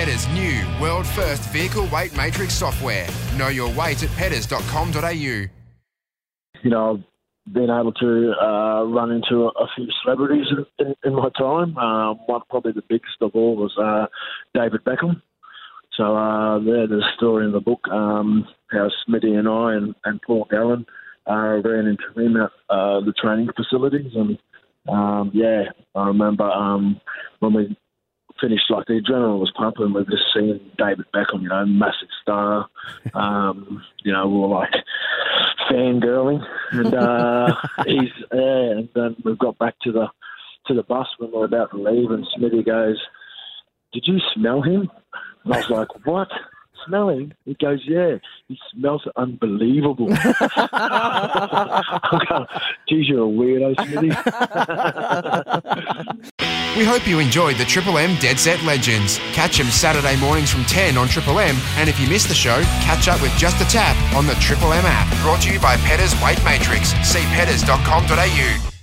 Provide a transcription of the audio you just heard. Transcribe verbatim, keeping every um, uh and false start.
Pedders' new world-first vehicle weight matrix software. Know your weight at pedders dot com dot a u. You know, I've been able to uh, run into a, a few celebrities in, in, in my time. Um, one probably the biggest of all was uh, David Beckham. So uh, yeah, there's a story in the book um, how Smitty and I and, and Paul Gallen uh, ran into him at uh, the training facilities. And um, yeah, I remember um, when we finished, like the adrenaline was pumping. We've just seen David Beckham, you know, massive star. Um, you know, we were like fangirling, and uh, he's yeah. And then we got back to the to the bus when we were about to leave, and Smitty goes, "Did you smell him?" And I was like, "What? Smell him?" He goes, "Yeah, he smells unbelievable." I go, "Geez, you're a weirdo, Smitty." We hope you enjoyed the Triple M Dead Set Legends. Catch them Saturday mornings from ten on Triple M, and if you missed the show, catch up with Just a Tap on the Triple M app. Brought to you by Pedders Weight Matrix. See pedders dot com dot a u.